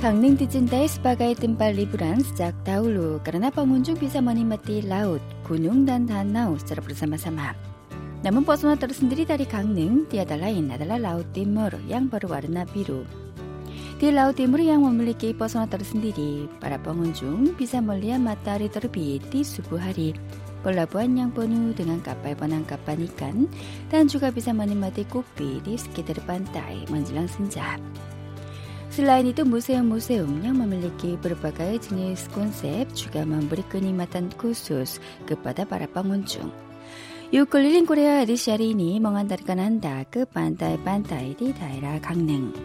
Gangneung dicintai sebagai tempat liburan sejak dahulu karena pengunjung bisa menikmati laut, gunung, dan danau secara bersama-sama. Namun pesona tersendiri dari Gangneung tiada lain adalah Laut Timur yang berwarna biru. Di Laut Timur yang memiliki pesona tersendiri, para pengunjung bisa melihat matahari terbit di subuh hari, pelabuhan yang penuh dengan kapal penangkapan ikan, dan juga bisa menikmati kopi di sekitar pantai menjelang senja. Selain itu, museum-museum yang memiliki berbagai jenis konsep juga memberi kenikmatan khusus kepada para pengunjung. Yuk keliling Korea edisi hari ini mengantarkan Anda ke pantai-pantai di daerah Gangneung.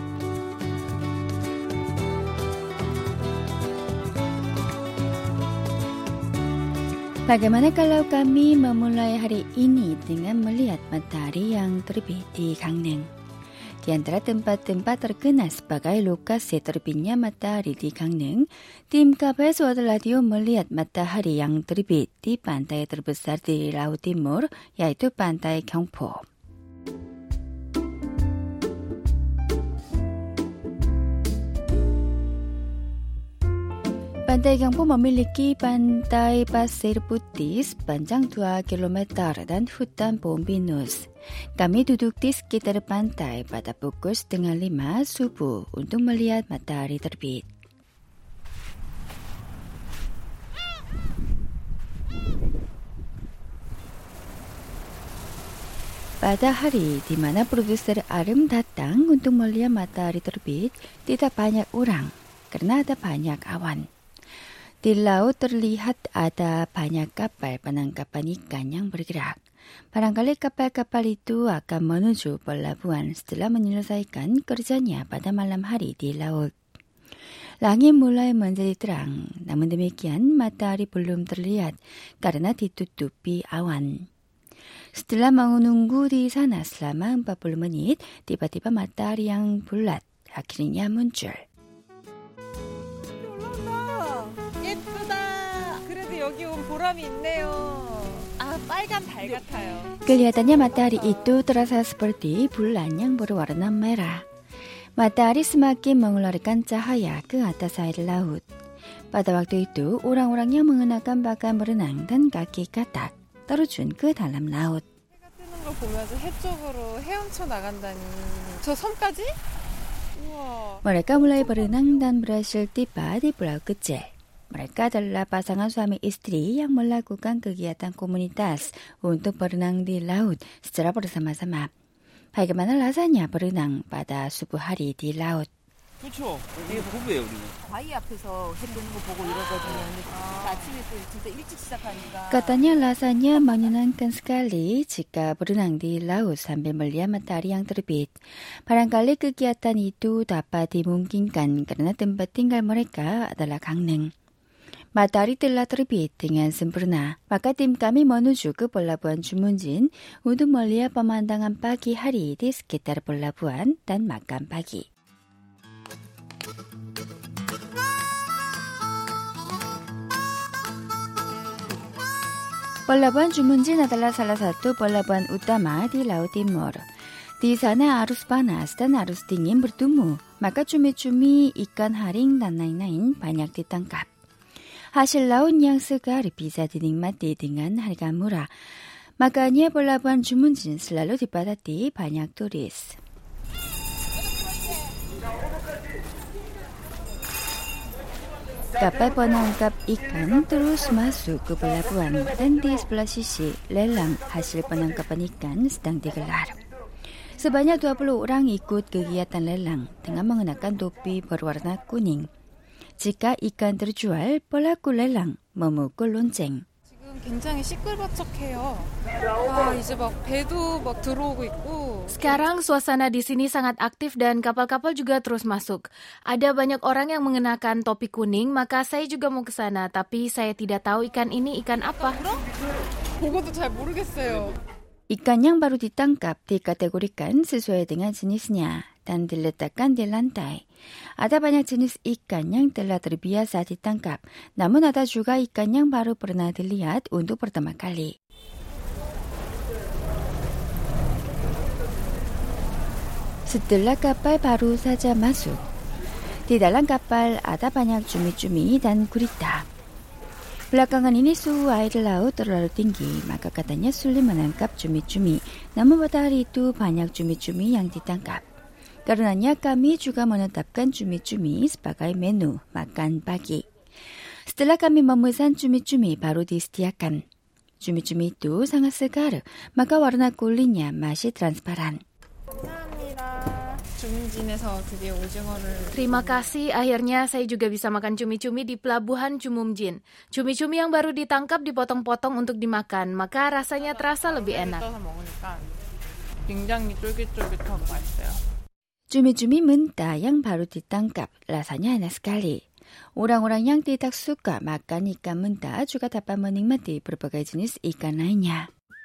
Bagaimana kalau kami memulai hari ini dengan melihat matahari yang terbit di Gangneung? Di antara tempat-tempat terkenal sebagai lokasi terbitnya matahari di Gangneung, tim KBS World Radio melihat matahari yang terbit di pantai terbesar di Laut Timur, yaitu Pantai Gyeongpo. Pantai Gyeongpo memiliki pantai pasir putih sepanjang 2 km dan hutan pohon pinus. Kami duduk di sekitar pantai pada pukul 4:30 subuh untuk melihat matahari terbit. Pada hari di mana produser Arim datang untuk melihat matahari terbit, tidak banyak orang karena ada banyak awan. Di laut terlihat ada banyak kapal penangkapan ikan yang bergerak. Barangkali kapal-kapal itu akan menuju pelabuhan setelah menyelesaikan kerjanya pada malam hari di laut. Langit mulai menjadi terang, namun demikian matahari belum terlihat karena ditutupi awan. Setelah menunggu di sana selama 40 menit, tiba-tiba matahari yang bulat akhirnya muncul. 여기 온 보람이 있네요. 빨간 달 같아요. Kelihatannya matahari itu terasa seperti bulan yang berwarna merah. Matahari semakin mengeluarkan cahaya ke atas air laut. Pada waktu itu, orang-orang yang mengenakan pakaian berenang dan kaki katak terjun ke dalam laut. 해가 뜨는 걸 보면서 해 쪽으로 헤엄쳐 나간다니. 저 섬까지? 우와. Mereka mulai berenang dan berhasil tiba di pulau kecil. Mereka adalah pasangan suami istri yang melakukan kegiatan komunitas untuk berenang di laut secara bersama-sama. Bagaimana rasanya berenang pada subuh hari di laut? 그렇죠. 이게 부부예요, 우리는. 바위 앞에서 해 뜨는 거 보고 이러거든요. 근데 아침에 또 진짜 일찍 시작하니까. Katanya rasanya menyenangkan sekali jika berenang di laut sambil melihat matahari yang terbit. Barangkali kegiatan itu dapat dimungkinkan karena tempat tinggal mereka adalah Gangneung. Matahari telah terbit dengan sempurna, maka tim kami menuju ke pelabuhan Jumunjin untuk melihat pemandangan pagi hari di sekitar pelabuhan dan makan pagi. Pelabuhan Jumunjin adalah salah satu pelabuhan utama di Laut Timur. Di sana arus panas dan arus dingin bertemu, maka cumi-cumi, ikan haring, dan lain-lain banyak ditangkap. Hasil laut yang segar bisa dinikmati dengan harga murah. Makanya pelabuhan Jumunjin selalu dipadati banyak turis. Kapal penangkap ikan terus masuk ke pelabuhan dan di sebelah sisi lelang hasil penangkapan ikan sedang digelar. Sebanyak 20 orang ikut kegiatan lelang dengan mengenakan topi berwarna kuning. Jika ikan terjual, pelaku lelang memukul lonceng. 지금 굉장히 시끌벅적해요. 이제 막 배도 막 들어오고 있고. Sekarang suasana di sini sangat aktif dan kapal-kapal juga terus masuk. Ada banyak orang yang mengenakan topi kuning, maka saya juga mau ke sana, tapi saya tidak tahu ikan ini ikan apa. 그것도 잘 모르겠어요. Ikan yang baru ditangkap dikategorikan sesuai dengan jenisnya dan diletakkan di lantai. Ada banyak jenis ikan yang telah terbiasa ditangkap, namun ada juga ikan yang baru pernah dilihat untuk pertama kali. Setelah kapal baru saja masuk, Di dalam kapal ada banyak cumi-cumi dan gurita. Belakangan ini suhu air laut terlalu tinggi, maka katanya sulit menangkap cumi-cumi. Namun pada hari itu banyak cumi-cumi yang ditangkap. Karenanya kami juga menetapkan cumi-cumi sebagai menu makan pagi. Setelah kami memesan cumi-cumi baru disediakan. Cumi-cumi itu sangat segar, maka warna kulitnya masih transparan. Terima kasih, akhirnya saya juga bisa makan cumi-cumi di pelabuhan Jumumjin. Cumi-cumi yang baru ditangkap dipotong-potong untuk dimakan, maka rasanya terasa lebih enak. Cumi-cumi mentah yang baru ditangkap rasanya enak sekali. Orang-orang yang tidak suka makan ikan mentah juga dapat menikmati berbagai jenis ikan lainnya.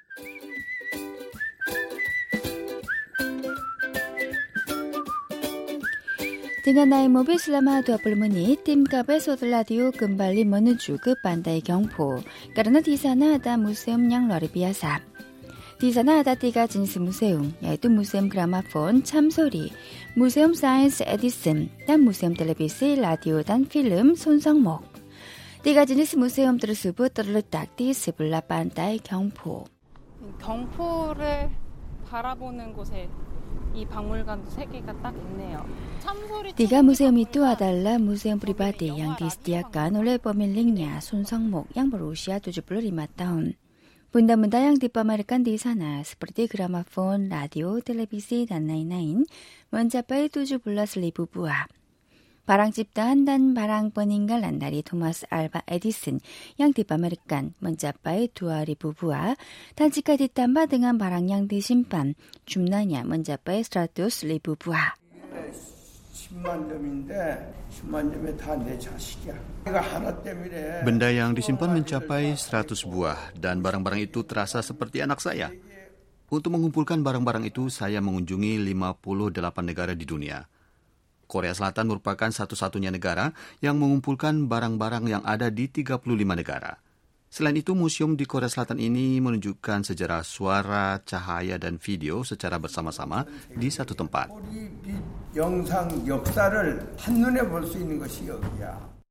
Dengan naik mobil selama 20 menit, tim kabel Soul Radio kembali menuju ke pantai Gyeongpo karena di sana ada museum yang luar biasa. Di sana ada 3 jenis museum, yaitu Museum Gramafon Chamsori, Museum Sains Edison, dan Museum Televisi, Radio, dan Film Sonseongmok. 3 jenis museum tersebut terletak di sebelah pantai Gyeongpo. 경포를 바라보는 곳에 이 박물관도 3개가 딱 있네요. 3 museum itu adalah museum pribadi yang disediakan oleh pemiliknya Sonseongmok yang berusia 75 tahun. Benda-benda yang dipamerkan di sana seperti gramafon, radio, televisi, dan lain-lain mencapai 17.000 buah. Barang ciptaan dan barang peninggalan dari Thomas Alva Edison yang dipamerkan mencapai 2.000 buah, dan jika ditambah dengan barang yang disimpan, jumlahnya mencapai 100.000 buah. 10만 점인데 10만 점에 다 내 자식이야. 내가 하나 때문에. Benda yang disimpan mencapai 100 buah dan barang-barang itu terasa seperti anak saya. Untuk mengumpulkan barang-barang itu, saya mengunjungi 58 negara di dunia. Korea Selatan merupakan satu-satunya negara yang mengumpulkan barang-barang yang ada di 35 negara. Selain itu, museum di Korea Selatan ini menunjukkan sejarah suara, cahaya, dan video secara bersama-sama di satu tempat. 영상 역사를 한눈에 볼 수 있는 것이 여기야.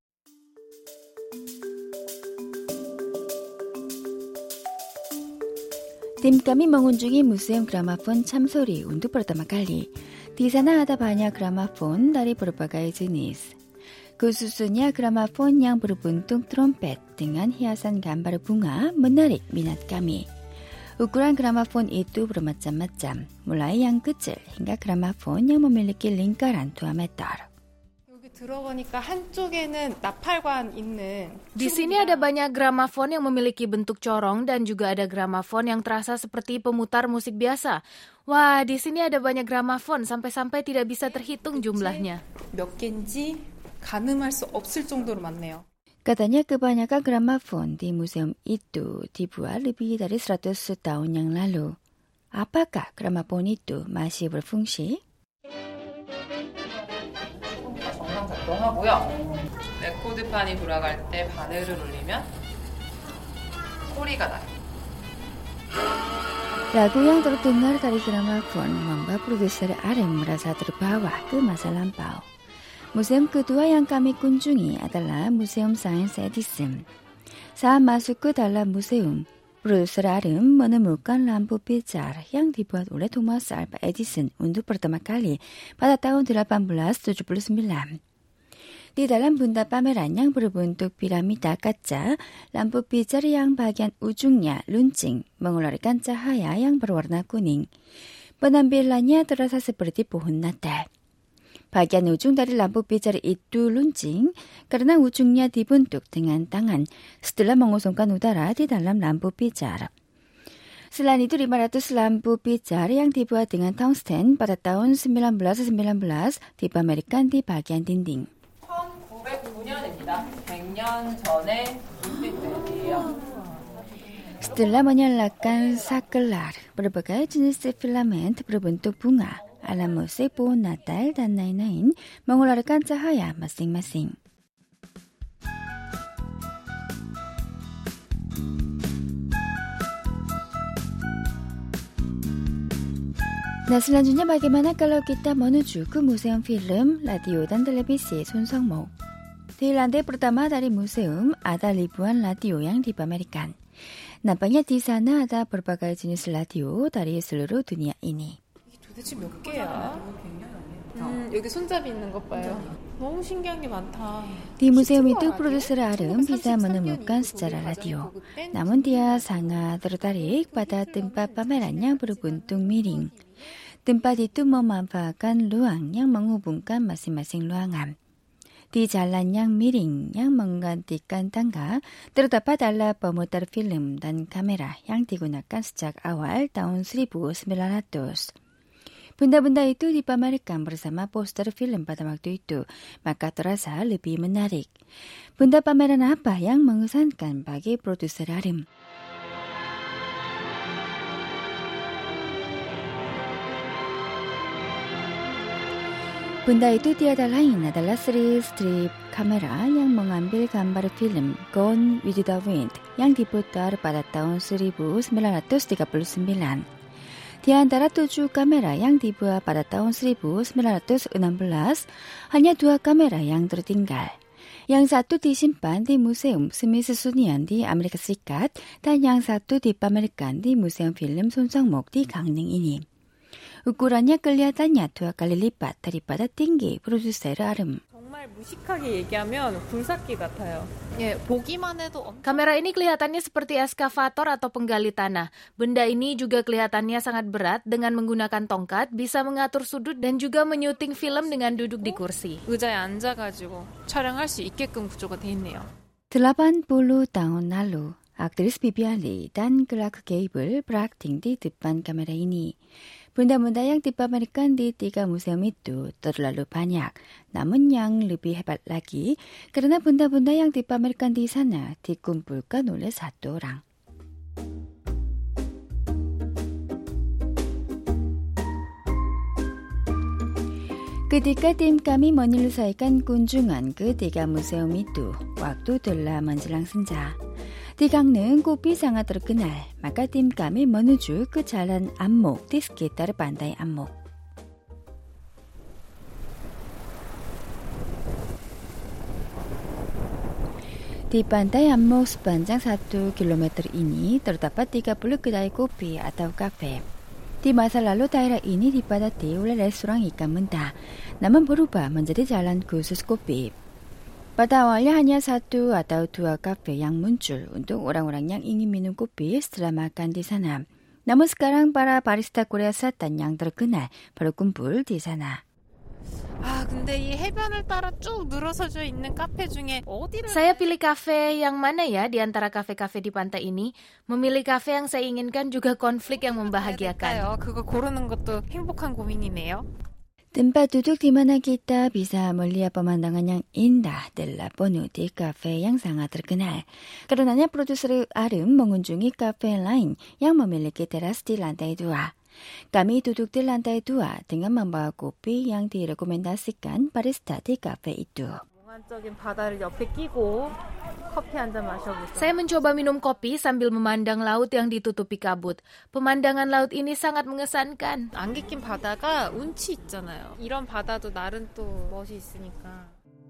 Tim kami mengunjungi Museum Gramafon Chamsori untuk pertama kali. Di sana ada banyak gramafon dari berbagai jenis. Khususnya gramafon yang berbentuk trompet dengan hiasan gambar bunga menarik minat kami. Ukuran gramafon itu bermacam-macam, mulai yang kecil hingga gramafon yang memiliki lingkaran 2 meter. 여기 들어보니까 한쪽에는 나팔관 있는. Di sini ada banyak gramafon yang memiliki bentuk corong dan juga ada gramafon yang terasa seperti pemutar musik biasa. Wah, di sini ada banyak gramafon sampai-sampai tidak bisa terhitung jumlahnya. 몇 개인지 가늠할 수 없을 정도로 많네요. Katanya kebanyakan gramafon di museum itu dibuat lebih dari 100 tahun yang lalu. Apakah gramafon itu masih berfungsi? 정상 작동하고요. 레코드판이 돌아갈 때 바늘을 올리면 소리가 나요. Lagu yang terdengar dari gramafon membuat produser Arem merasa terbawa ke masa lampau. Museum kedua yang kami kunjungi adalah Museum Sains Edison. Saat masuk ke dalam museum, produser Arem menemukan lampu pijar yang dibuat oleh Thomas Alva Edison untuk pertama kali pada tahun 1879. Di dalam benda pameran yang berbentuk piramida kaca, lampu pijar yang bagian ujungnya luncing mengeluarkan cahaya yang berwarna kuning. Penampilannya terasa seperti pohon Natal. Bagian ujung dari lampu pijar itu luncing karena ujungnya dibentuk dengan tangan setelah mengosongkan udara di dalam lampu pijar. Selain itu, 500 lampu pijar yang dibuat dengan tungsten pada tahun 1919 dipamerkan di bagian dinding. 1909년입니다. 100년 전에 빛들이에요. Setelah menyalakan saklar, berbagai jenis filament berbentuk bunga, ala musik pohon Natal dan lain-lain mengeluarkan cahaya masing-masing. Nah, selanjutnya bagaimana kalau kita menuju ke Museum Film, Radio dan Televisi Sun Seong-mok. Di lantai pertama dari museum ada ribuan radio yang dipamerkan. Nampaknya di sana ada berbagai jenis radio dari seluruh dunia ini. 도대체 몇 개야? 여기 손잡이 있는 것 봐요. 너무 신기한 게 많다. Di museum itu produser Arum bisa menemukan secara radio. Namun dia sangat tertarik pada tempat pameran yang berbuntung miring. Tempat itu memanfaatkan ruang yang menghubungkan masing-masing ruangan. Di jalan yang miring yang menggantikan tangga, terdapat alat pemutar film dan kamera yang digunakan sejak awal tahun 1900. Benda-benda itu dipamerkan bersama poster film pada waktu itu, maka terasa lebih menarik. Benda pameran apa yang mengesankan bagi produser Arum? Benda itu tiada lain adalah seri strip kamera yang mengambil gambar film Gone with the Wind yang diputar pada tahun 1939. Di antara 7 kamera yang dibuat pada tahun 1916, hanya 2 kamera yang tertinggal. Yang satu disimpan di Museum Smithsonian di Amerika Serikat dan yang satu dipamerkan di Museum Film Sun Seong-mok di Gangneung ini. ukurannya kelihatannya 2 kali lipat daripada tinggi produser Arum. 정말 무식하게 얘기하면 굴삭기 같아요. 예, 보기만 해도 Kamera ini kelihatannya seperti eskavator atau penggali tanah. Benda ini juga kelihatannya sangat berat dengan menggunakan tongkat, bisa mengatur sudut dan juga menyuting film dengan duduk di kursi. 의자에 앉아가지고 촬영할 수 있게끔 구조가 돼 있네요. 80 tahun lalu, aktris Vivian Lee dan Clark Gable berakting di depan kamera ini. Benda-benda yang dipamerkan di 3 museum itu terlalu banyak. Namun yang lebih hebat lagi, karena benda-benda yang dipamerkan di sana dikumpulkan oleh 1 orang. Ketika tim kami menyelesaikan kunjungan ke 3 museum itu, waktu telah menjelang senja. Di Gangneung kopi sangat terkenal, maka tim kami menuju ke jalan Anmok di sekitar pantai Anmok. Di pantai Anmok sepanjang 1 km ini terdapat 30 kedai kopi atau kafe. Di masa lalu daerah ini dipadati oleh restoran ikan mentah, namun berubah menjadi jalan khusus kopi. Pada awalnya hanya 1 atau 2 kafe yang muncul untuk orang-orang yang ingin minum kopi setelah makan di sana. Namun sekarang para barista Korea Selatan yang terkenal berkumpul di sana. 아, 근데 이 해변을 따라 쭉 늘어서져 있는 카페 중에 어디를 Saya pilih kafe yang mana ya di antara kafe-kafe di pantai ini? Memilih kafe yang saya inginkan juga konflik yang membahagiakan. 그거 고르는 것도 행복한 고민이네요. Tempat duduk di mana kita bisa melihat pemandangan yang indah adalah penuh di kafe yang sangat terkenal. Karenanya produser Arum mengunjungi kafe lain yang memiliki teras di lantai 2. Kami duduk di lantai 2 dengan membawa kopi yang direkomendasikan barista di kafe itu. 몽환적인 바다를 옆에 끼고 커피 한 잔 마셔보세요. Saya mencoba minum kopi sambil memandang laut yang ditutupi kabut. Pemandangan laut ini sangat mengesankan. 안개 낀 바다가 운치 있잖아요. 이런 바다도 나름 또 멋이 있으니까.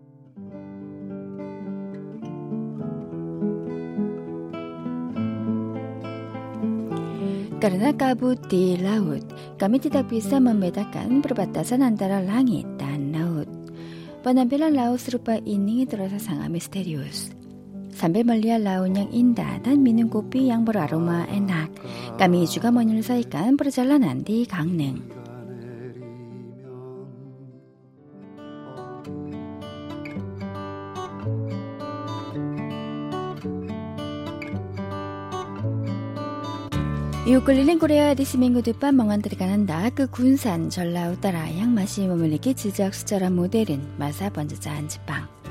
Karena kabut di laut, kami tidak bisa membedakan perbatasan antara langit dan laut. Penampilan laut serupa ini terasa sangat misterius. Sambil melihat laut yang indah dan minum kopi yang beraroma enak, kami juga menyelesaikan perjalanan di Gangneung. Yuk keliling Korea di seminggu depan mengantarkan Anda ke Gunsan, Jeolla Utara yang masih memiliki jejak sejarah modern masa penjajahan Jepang.